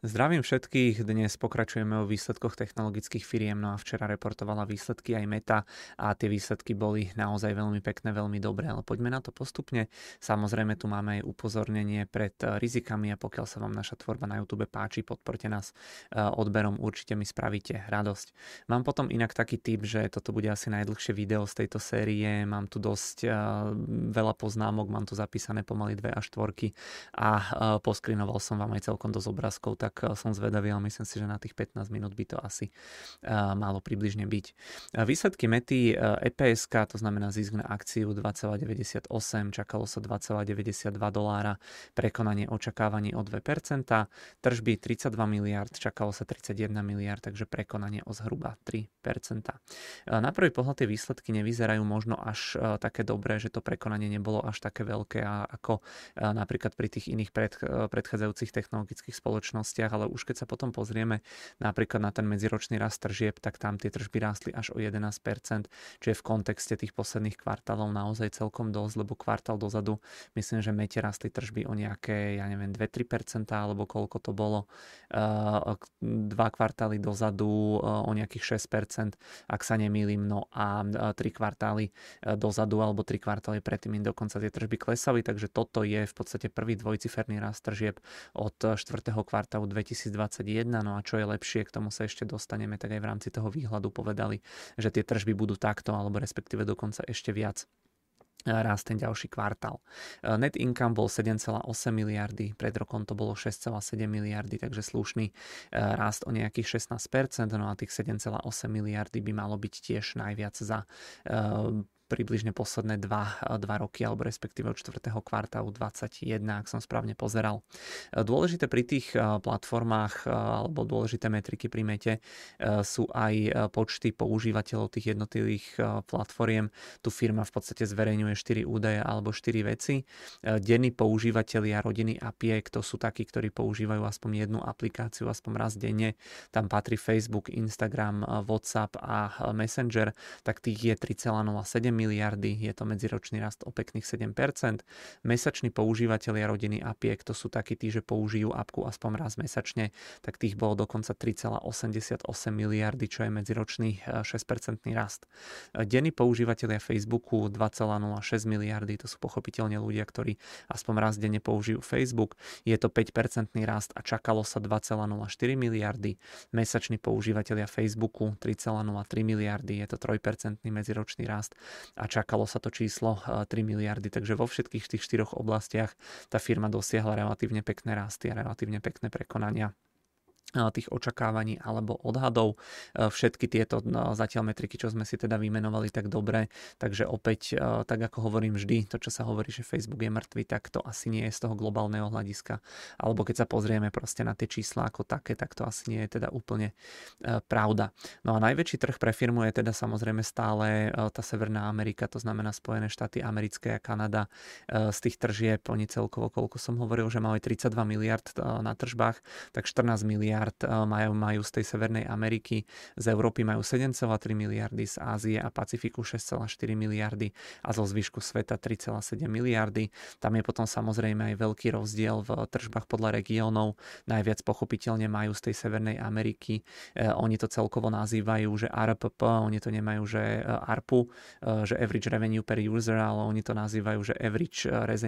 Zdravím všetkých, dnes pokračujeme o výsledkoch technologických firiem, no a včera reportovala výsledky aj Meta a tie výsledky boli naozaj veľmi pekné, veľmi dobré, ale poďme na to postupne. Samozrejme tu máme aj upozornenie pred rizikami a pokiaľ sa vám naša tvorba na YouTube páči, podporte nás odberom, určite mi spravíte radosť. Mám potom inak taký tip, že toto bude asi najdlhšie video z tejto série, mám tu dosť veľa poznámok, mám tu zapísané pomaly 2 až 4 a poskrinoval som vám aj celkom dosť obrázkov, tak som zvedavý, ale myslím si, že na tých 15 minút by to asi malo približne byť. Výsledky Mety EPS, to znamená zisk na akciu 2,98, čakalo sa $2,92, prekonanie očakávaní o 2%, tržby 32 miliard, čakalo sa 31 miliard, takže prekonanie o zhruba 3%. Na prvý pohľad tie výsledky nevyzerajú možno až také dobré, že to prekonanie nebolo až také veľké ako napríklad pri tých iných predchádzajúcich technologických spoločnostiach, ale už keď sa potom pozrieme napríklad na ten medziročný rast tržieb, tak tam tie tržby rástli až o 11%, čo je v kontexte tých posledných kvartálov naozaj celkom dosť, lebo kvartál dozadu, myslím, že Mete rastli tržby o nejaké, 2-3%, alebo koľko to bolo, 2 kvartály dozadu o nejakých 6%, ak sa nemýlim, no a 3 kvartály dozadu, alebo 3 kvartály predtým dokonca tie tržby klesali, takže toto je v podstate prvý dvojciferný rast tržieb od 4. kvartálu 2021, no a čo je lepšie, k tomu sa ešte dostaneme, tak aj v rámci toho výhľadu povedali, že tie tržby budú takto, alebo respektíve dokonca ešte viac rast ten ďalší kvartál. Net income bol 7,8 miliardy, pred rokom to bolo 6,7 miliardy, takže slušný rast o nejakých 16%, no a tých 7,8 miliardy by malo byť tiež najviac za približne posledné 2 roky, alebo respektíve od 4. kvartálu 2021, ak som správne pozeral. Dôležité pri tých platformách, alebo dôležité metriky pri Mete sú aj počty používateľov tých jednotlivých platformiem. Tu firma v podstate zverejňuje 4 údaje alebo 4 veci. Denní používatelia rodiny APIek, to sú takí, ktorí používajú aspoň jednu aplikáciu, aspoň raz denne. Tam patrí Facebook, Instagram, WhatsApp a Messenger, tak tých je 3,07 miliardy, je to medziročný rast o pekných 7%. Mesační používatelia rodiny APIek, to sú takí tí, že použijú apku aspoň raz mesačne, tak tých bolo dokonca 3,88 miliardy, čo je medziročný 6% rast. Denní používatelia Facebooku 2,06 miliardy, to sú pochopiteľne ľudia, ktorí aspoň raz denne použijú Facebook, je to 5% rast a čakalo sa 2,04 miliardy. Mesační používatelia Facebooku 3,03 miliardy, je to 3% medziročný rast a čakalo sa to číslo 3 miliardy, takže vo všetkých tých 4 oblastiach tá firma dosiahla relatívne pekné rasty a relatívne pekné prekonania tých očakávaní alebo odhadov. Všetky tieto zatiaľ metriky, čo sme si teda vymenovali, tak dobre, takže opäť, tak ako hovorím vždy, to čo sa hovorí, že Facebook je mŕtvy, tak to asi nie je z toho globálneho hľadiska, alebo keď sa pozrieme proste na tie čísla ako také, tak to asi nie je teda úplne pravda. No a najväčší trh pre firmu je teda samozrejme stále tá Severná Amerika, to znamená Spojené štáty americké a Kanada. Z tých tržieb oni celkovo, koľko som hovoril, že mali 32 miliard na tržbách, tak 14 miliard majú z tej Severnej Ameriky, z Európy majú 7,3 miliardy, z Ázie a Pacifiku 6,4 miliardy a zo zvyšku sveta 3,7 miliardy. Tam je potom samozrejme aj veľký rozdiel v tržbách podľa regiónov. Najviac pochopiteľne majú z tej Severnej Ameriky. Oni to celkovo nazývajú, že ARPP, oni to nemajú, že ARPU, že Average Revenue per User, ale oni to nazývajú, že Average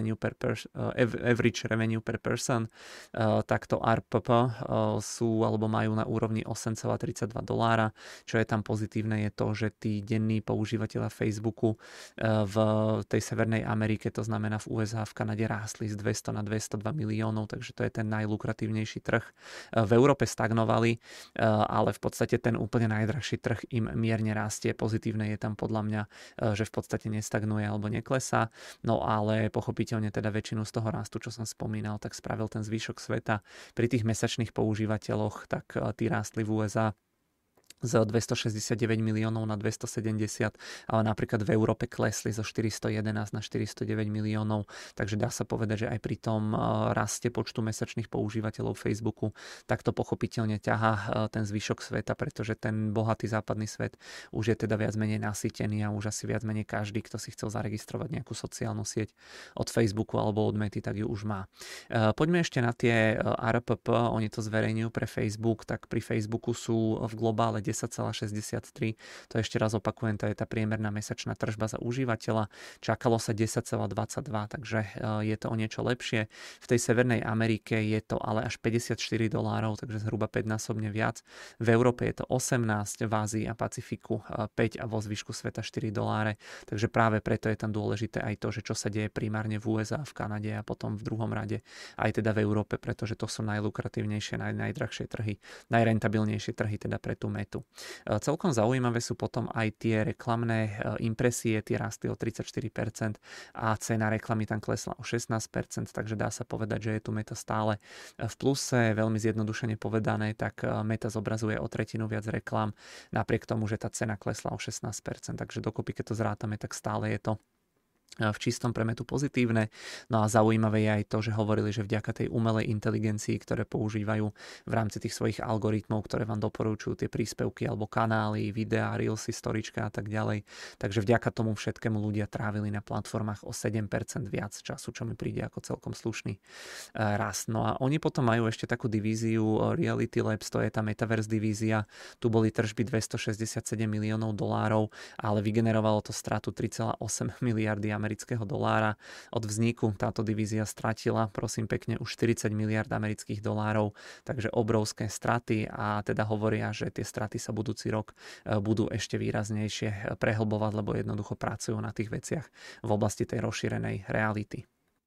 Revenue per Person. Takto ARPP sú alebo majú na úrovni $8,32. Čo je tam pozitívne je to, že tí denní používateľa Facebooku v tej Severnej Amerike, to znamená v USA, v Kanade rástli z 200 na 202 miliónov, takže to je ten najlukratívnejší trh. V Európe stagnovali, ale v podstate ten úplne najdrahší trh im mierne rastie. Pozitívne je tam podľa mňa, že v podstate nestagnuje alebo neklesá, no ale pochopiteľne teda väčšinu z toho rastu, čo som spomínal, tak spravil ten zvyšok sveta. Pri tých mesačných používateľoch, tak tí rástli v USA z 269 miliónov na 270, ale napríklad v Európe klesli zo 411 na 409 miliónov, takže dá sa povedať, že aj pri tom raste počtu mesačných používateľov Facebooku, tak to pochopiteľne ťahá ten zvyšok sveta, pretože ten bohatý západný svet už je teda viac menej nasýtený a už asi viac menej každý, kto si chcel zaregistrovať nejakú sociálnu sieť od Facebooku alebo od Mety, tak ju už má. Poďme ešte na tie ARPP, oni to zverejňujú pre Facebook, tak pri Facebooku sú v globále 10,63. To ešte raz opakujem, to je tá priemerná mesačná tržba za užívateľa. Čakalo sa 10,22, takže je to o niečo lepšie. V tej Severnej Amerike je to ale až $54, takže zhruba 5-násobne viac. V Európe je to 18, v Ázii a Pacifiku 5 a vo zvyšku sveta $4. Takže práve preto je tam dôležité aj to, že čo sa deje primárne v USA, v Kanade a potom v druhom rade aj teda v Európe, pretože to sú najlukratívnejšie, najdrahšie trhy, najrentabilnejšie trhy teda pre tú Metu. Celkom zaujímavé sú potom aj tie reklamné impresie, tie rastli o 34% a cena reklamy tam klesla o 16%, takže dá sa povedať, že je tu Meta stále v pluse. Veľmi zjednodušene povedané, tak Meta zobrazuje o tretinu viac reklám, napriek tomu, že tá cena klesla o 16%, takže dokopy, keď to zrátame, tak stále je to v čistom pre Metu pozitívne. No a zaujímavé je aj to, že hovorili, že vďaka tej umelej inteligencii, ktoré používajú v rámci tých svojich algoritmov, ktoré vám doporučujú tie príspevky alebo kanály, videá, reelsy, storička a tak ďalej. Takže vďaka tomu všetkému ľudia trávili na platformách o 7% viac času, čo mi príde ako celkom slušný rast. No a oni potom majú ešte takú divíziu Reality Labs, to je tá Metaverse divízia. Tu boli tržby $267 miliónov, ale vygenerovalo to stratu 3,8 miliardy amerického dolára. Od vzniku táto divízia stratila, prosím pekne, už 40 miliard amerických dolárov, takže obrovské straty a teda hovoria, že tie straty sa budúci rok budú ešte výraznejšie prehlbovať, lebo jednoducho pracujú na tých veciach v oblasti tej rozšírenej reality.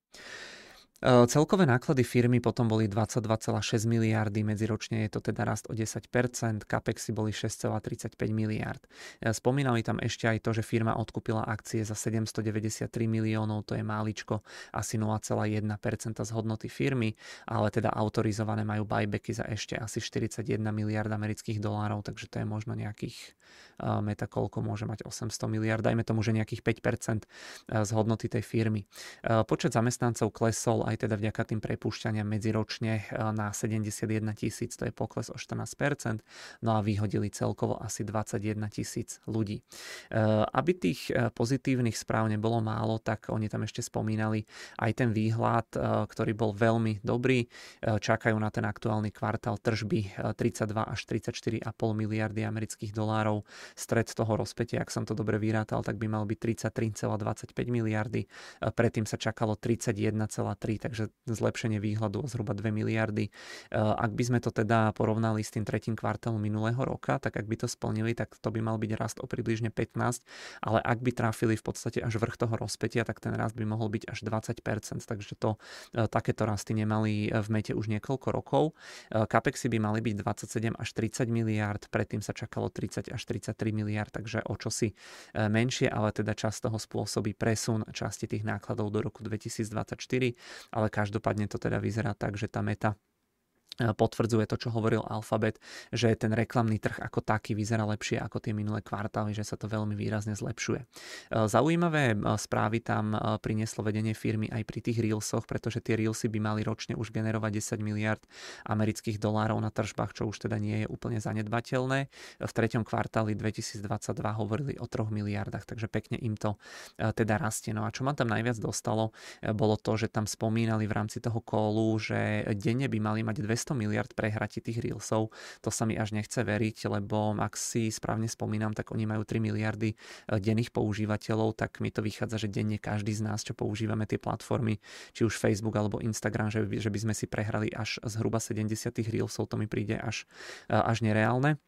Celkové náklady firmy potom boli 22,6 miliardy, medziročne je to teda rast o 10%, capexy boli 6,35 miliard. Spomínali tam ešte aj to, že firma odkúpila akcie za 793 miliónov, to je máličko, asi 0,1% z hodnoty firmy, ale teda autorizované majú buybacky za ešte asi 41 miliard amerických dolárov, takže to je možno nejakých Meta koľko môže mať 800 miliard, dajme tomu, že nejakých 5% z hodnoty tej firmy. Počet zamestnancov klesol aj teda vďaka tým prepúšťaniam medziročne na 71 000, to je pokles o 14%, no a vyhodili celkovo asi 21 000 ľudí. Aby tých pozitívnych správ nebolo málo, tak oni tam ešte spomínali aj ten výhľad, ktorý bol veľmi dobrý. Čakajú na ten aktuálny kvartál tržby 32 až 34,5 miliardy amerických dolárov. Stred toho rozpätia, ak som to dobre vyrátal, tak by mal byť 33,25 miliardy. Predtým sa čakalo 31,3, takže zlepšenie výhľadu o zhruba 2 miliardy. Ak by sme to teda porovnali s tým tretím kvartálom minulého roka, tak ak by to splnili, tak to by mal byť rast o približne 15, ale ak by trafili v podstate až vrch toho rozpätia, tak ten rast by mohol byť až 20%, takže to takéto rasty nemali v Mete už niekoľko rokov. Capexy by mali byť 27 až 30 miliard, predtým sa čakalo 30 až 33 miliard, takže o čosi menšie, ale teda časť toho spôsobí presun časti tých nákladov do roku 2024, ale každopádne to teda vyzerá tak, že tá Meta potvrdzuje to, čo hovoril Alphabet, že ten reklamný trh ako taký vyzerá lepšie ako tie minulé kvartály, že sa to veľmi výrazne zlepšuje. Zaujímavé správy tam prinieslo vedenie firmy aj pri tých reelsoch, pretože tie reelsy by mali ročne už generovať 10 miliard amerických dolárov na tržbách, čo už teda nie je úplne zanedbateľné. V treťom kvartáli 2022 hovorili o 3 miliardách, takže pekne im to teda rastie. No a čo ma tam najviac dostalo, bolo to, že tam spomínali v rámci toho callu, že denne by mali mať 200 miliard prehratí tých reelsov. To sa mi až nechce veriť, lebo ak si správne spomínam, tak oni majú 3 miliardy denných používateľov, tak mi to vychádza, že denne každý z nás, čo používame tie platformy, či už Facebook alebo Instagram, že by sme si prehrali až zhruba 70 reelsov, to mi príde až nereálne.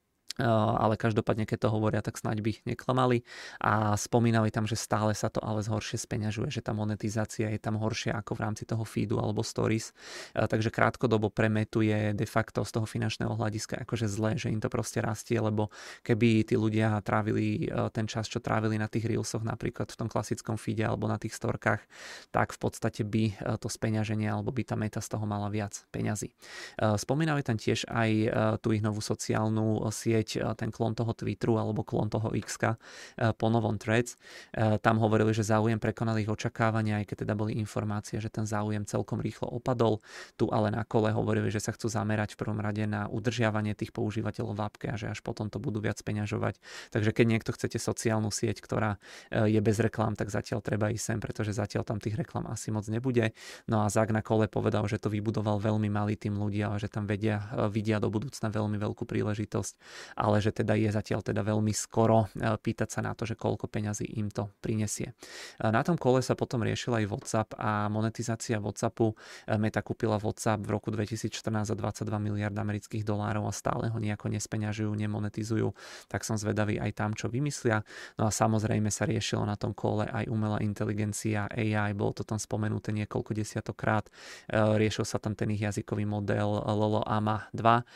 Ale každopádne, keď to hovoria, tak snáď by neklamali a spomínali tam, že stále sa to ale zhoršie speňažuje, že tá monetizácia je tam horšia ako v rámci toho feedu alebo stories, takže krátkodobo pre Metu je de facto z toho finančného hľadiska akože zlé, že im to proste rastie, lebo keby tí ľudia trávili ten čas, čo trávili na tých reelsoch napríklad v tom klasickom feede alebo na tých storkách, tak v podstate by to speňaženie alebo by tá Meta z toho mala viac peňazí. Spomínali tam tiež aj tú ich novú sociálnu sieť opäť ten klon toho Twitteru alebo klon toho X-ka po novom Threads. Tam hovorili, že záujem prekonal ich očakávania, aj keď teda boli informácie, že ten záujem celkom rýchlo opadol. Tu ale na kole hovorili, že sa chcú zamerať v prvom rade na udržiavanie tých používateľov v appke a že až potom to budú viac peňažovať. Takže keď niekto chcete sociálnu sieť, ktorá je bez reklám, tak zatiaľ treba ísť sem, pretože zatiaľ tam tých reklám asi moc nebude. No a Zak na kole povedal, že to vybudoval veľmi malý tým ľudia a že tam vidia do budúcna veľmi veľkú príležitosť, ale že teda je zatiaľ teda veľmi skoro pýtať sa na to, že koľko peňazí im to prinesie. Na tom kole sa potom riešil aj WhatsApp a monetizácia WhatsAppu. Meta kúpila WhatsApp v roku 2014 za 22 miliard amerických dolárov a stále ho nejako nespeňažujú, nemonetizujú, tak som zvedavý aj tam, čo vymyslia. No a samozrejme sa riešilo na tom kole aj umelá inteligencia, AI, bolo to tam spomenuté niekoľko desiatokrát. Riešil sa tam ten ich jazykový model Llama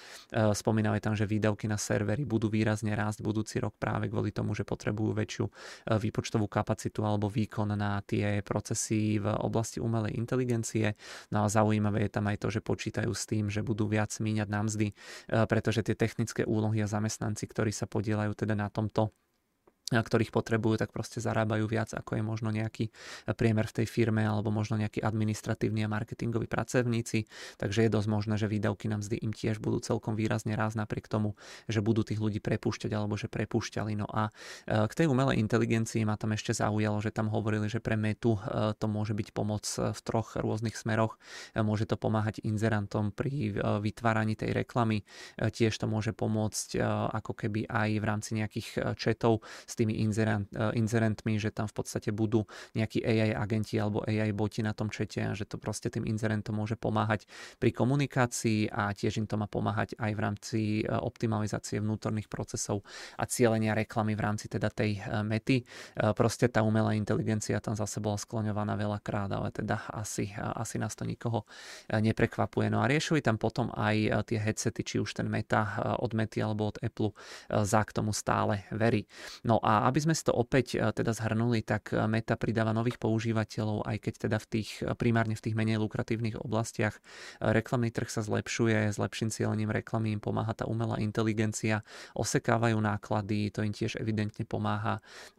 2. Spomínali tam, že výdavky na servery budú výrazne rásť budúci rok práve kvôli tomu, že potrebujú väčšiu výpočtovú kapacitu alebo výkon na tie procesy v oblasti umelej inteligencie. No a zaujímavé je tam aj to, že počítajú s tým, že budú viac míňať na mzdy, pretože tie technické úlohy a zamestnanci, ktorí sa podieľajú teda na tomto, ktorých potrebujú, tak proste zarábajú viac, ako je možno nejaký priemer v tej firme alebo možno nejakí administratívni a marketingoví pracovníci. Takže je dosť možné, že výdavky na mzdy im tiež budú celkom výrazne rásť napriek tomu, že budú tých ľudí prepúšťať alebo že prepúšťali. No a k tej umelej inteligencii ma tam ešte zaujalo, že tam hovorili, že pre Metu to môže byť pomoc v troch rôznych smeroch. Môže to pomáhať inzerantom pri vytváraní tej reklamy. Tiež to môže pomôcť ako keby aj v rámci nejakých chatov s tými inzerentmi, že tam v podstate budú nejakí AI agenti alebo AI boti na tom čete a že to proste tým inzerentom môže pomáhať pri komunikácii a tiež im to má pomáhať aj v rámci optimalizácie vnútorných procesov a cielenia reklamy v rámci teda tej Mety. Proste tá umelá inteligencia tam zase bola skloňovaná veľakrát, ale teda asi nás to nikoho neprekvapuje. No a riešili tam potom aj tie headsety, či už ten Meta od Mety alebo od Apple, Zak tomu stále verí. No a aby sme si to opäť teda zhrnuli, tak Meta pridáva nových používateľov, aj keď teda primárne v tých menej lukratívnych oblastiach. Reklamný trh sa zlepšuje, s lepším cielením reklamy im pomáha tá umelá inteligencia, osekávajú náklady, to im tiež evidentne pomáha.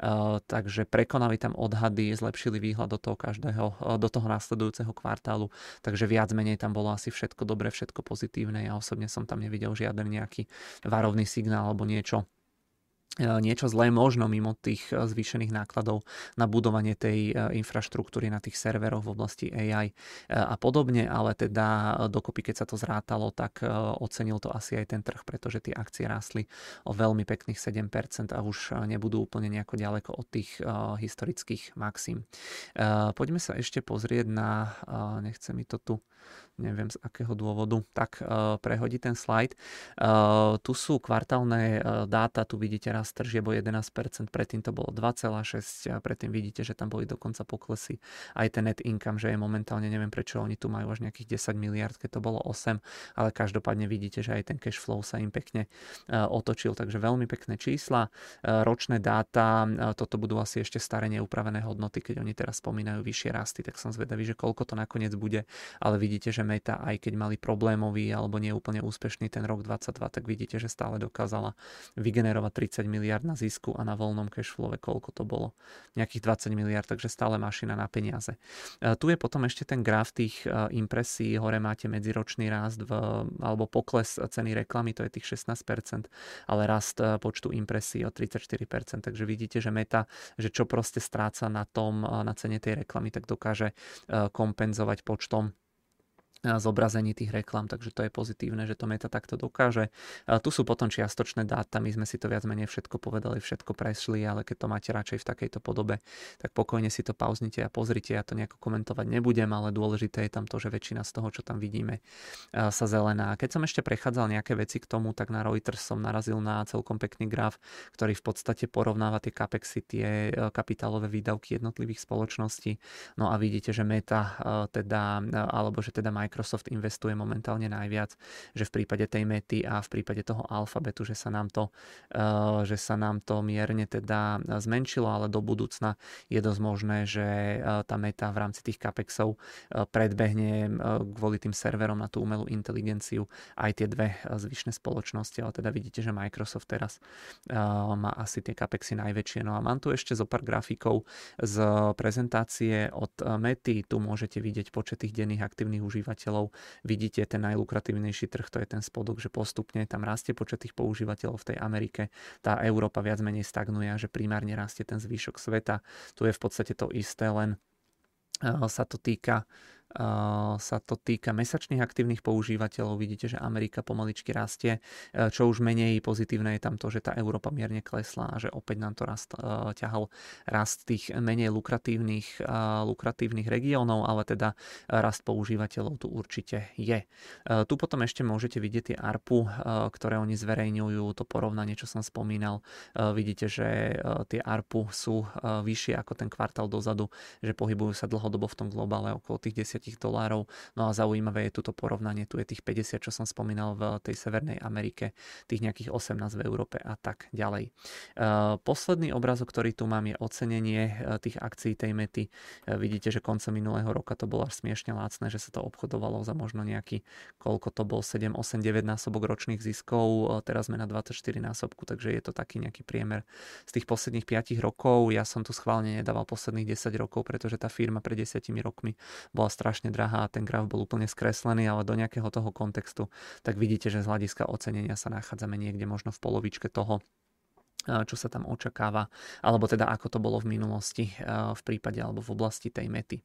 Takže prekonali tam odhady, zlepšili výhľad do toho následujúceho kvartálu, takže viac menej tam bolo asi všetko dobré, všetko pozitívne. Ja osobne som tam nevidel žiaden nejaký varovný signál alebo niečo zlé, možno mimo tých zvýšených nákladov na budovanie tej infraštruktúry na tých serveroch v oblasti AI a podobne, ale teda dokopy, keď sa to zrátalo, tak ocenil to asi aj ten trh, pretože tie akcie rástli o veľmi pekných 7% a už nebudú úplne nejako ďaleko od tých historických maxim. Poďme sa ešte pozrieť na, nechce mi to tu, neviem z akého dôvodu, tak prehodí ten slajd. Tu sú kvartálne dáta, tu vidíte rast tržieb o 11%, predtým to bolo 2,6%, predtým vidíte, že tam boli dokonca poklesy. Aj ten net income, že je momentálne, neviem prečo oni tu majú až nejakých 10 miliard, keď to bolo 8, ale každopádne vidíte, že aj ten cash flow sa im pekne otočil, takže veľmi pekné čísla. Ročné dáta, toto budú asi ešte staré neupravené hodnoty, keď oni teraz spomínajú vyššie rasty, tak som zvedavý, že koľko to nakoniec bude, ale vidíte, že Meta, aj keď mali problémový alebo neúplne úspešný ten rok 22, tak vidíte, že stále dokázala vygenerovať 30 miliard na zisku a na voľnom cashflowe koľko to bolo? Nejakých 20 miliard, takže stále mašina na peniaze. Tu je potom ešte ten graf tých impresí, hore máte medziročný rast alebo pokles ceny reklamy, to je tých 16%, ale rast počtu impresí o 34%, takže vidíte, že Meta, že čo proste stráca na cene tej reklamy, tak dokáže kompenzovať počtom zobrazení tých reklam, takže to je pozitívne, že to Meta takto dokáže. Tu sú potom čiastočné dáta, my sme si to viac menej všetko povedali, všetko prešli, ale keď to máte radšej v takejto podobe, tak pokojne si to pauznite a pozrite, ja to nejako komentovať nebudem, ale dôležité je tam to, že väčšina z toho, čo tam vidíme, sa zelená. Keď som ešte prechádzal nejaké veci k tomu, tak na Reuters som narazil na celkom pekný graf, ktorý v podstate porovnáva tie capexy, tie kapitálové výdavky jednotlivých spoločností. No a vidíte, že Meta teda, alebo že teda Microsoft investuje momentálne najviac, že v prípade tej Mety a v prípade toho Alphabetu, že sa nám to mierne teda zmenšilo, ale do budúcna je dosť možné, že tá Meta v rámci tých capexov predbehne kvôli tým serverom na tú umelú inteligenciu aj tie dve zvyšné spoločnosti, ale teda vidíte, že Microsoft teraz má asi tie capexy najväčšie. No a mám tu ešte zo pár grafikov z prezentácie od Mety. Tu môžete vidieť počet tých denných aktívnych užívateľov. Vidíte ten najlukratívnejší trh, to je ten spodok, že postupne tam rastie počet tých používateľov v tej Amerike. Tá Európa viac menej stagnuje a že primárne rastie ten zvýšok sveta. Tu je v podstate to isté, len sa to týka mesačných aktívnych používateľov. Vidíte, že Amerika pomaličky rastie. Čo už menej pozitívne je tam to, že tá Európa mierne klesla a že opäť nám to ťahal rast tých menej lukratívnych regiónov, ale teda rast používateľov tu určite je. Tu potom ešte môžete vidieť tie ARPU, ktoré oni zverejňujú, to porovnanie, čo som spomínal. Vidíte, že tie ARPU sú vyššie ako ten kvartál dozadu, že pohybujú sa dlhodobo v tom globále okolo tých $10. No a zaujímavé je toto porovnanie, tu je tých 50, čo som spomínal v tej Severnej Amerike, tých nejakých 18 v Európe a tak ďalej. Posledný obrázok, ktorý tu mám, je ocenenie tých akcií tej Mety. Vidíte, že koncom minulého roka to bolo až smiešne lácne, že sa to obchodovalo za možno nejaký, koľko to bol, 7, 8, 9 násobok ročných ziskov, teraz sme na 24 násobku, takže je to taký nejaký priemer z tých posledných 5 rokov. Ja som tu schválne nedával posledných 10 rokov, pretože tá firma pred 10 rokmi bola strašne drahá a ten graf bol úplne skreslený, ale do nejakého toho kontextu, tak vidíte, že z hľadiska ocenenia sa nachádzame niekde možno v polovičke toho, čo sa tam očakáva, alebo teda ako to bolo v minulosti v prípade alebo v oblasti tej Mety.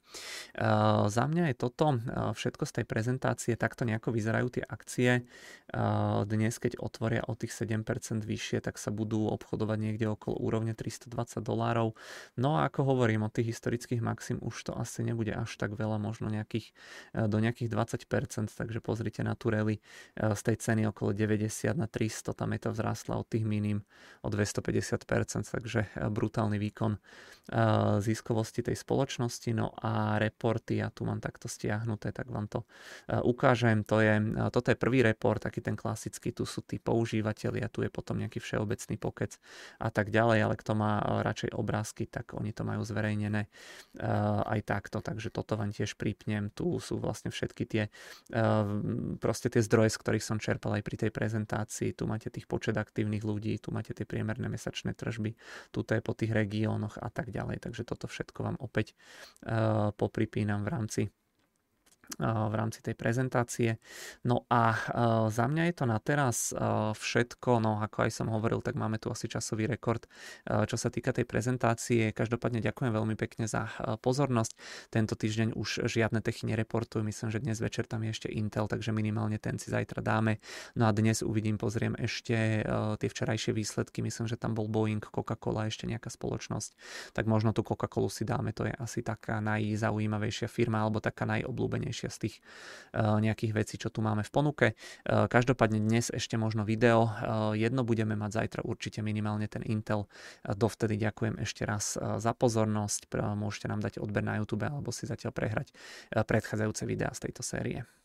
Za mňa je toto všetko z tej prezentácie, takto nejako vyzerajú tie akcie. Dnes, keď otvoria o tých 7% vyššie, tak sa budú obchodovať niekde okolo úrovne $320. No a ako hovorím, od tých historických maxim už to asi nebude až tak veľa, možno do nejakých 20%, takže pozrite na tú rally z tej ceny okolo 90 na 300, tá Meta vzrástla od tých minim o 250%, takže brutálny výkon ziskovosti tej spoločnosti. No a reporty, ja tu mám takto stiahnuté, tak vám to ukážem. Toto je prvý report, taký ten klasický, tu sú tí používateľia, tu je potom nejaký všeobecný pokec a tak ďalej, ale kto má radšej obrázky, tak oni to majú zverejnené aj takto, takže toto vám tiež pripnem. Tu sú vlastne všetky tie zdroje, z ktorých som čerpal aj pri tej prezentácii. Tu máte tých počet aktívnych ľudí, tu máte tie priemerné mesačné tržby, tuto je po tých regiónoch a tak ďalej. Takže toto všetko vám opäť popripínam v rámci tej prezentácie. No a za mňa je to na teraz všetko, no ako aj som hovoril, tak máme tu asi časový rekord, čo sa týka tej prezentácie. Každopádne ďakujem veľmi pekne za pozornosť. Tento týždeň už žiadne techy nereportujú, myslím, že dnes večer tam je ešte Intel, takže minimálne ten si zajtra dáme. No a dnes pozriem ešte tie včerajšie výsledky, myslím, že tam bol Boeing, Coca-Cola, ešte nejaká spoločnosť, tak možno tú Coca-Colu si dáme, to je asi taká najzaujímavejšia firma, alebo taká najobľúbenejšia z tých nejakých vecí, čo tu máme v ponuke. Každopádne dnes ešte možno video. Jedno budeme mať zajtra určite minimálne ten Intel. Dovtedy ďakujem ešte raz za pozornosť. Môžete nám dať odber na YouTube alebo si zatiaľ prehrať predchádzajúce videá z tejto série.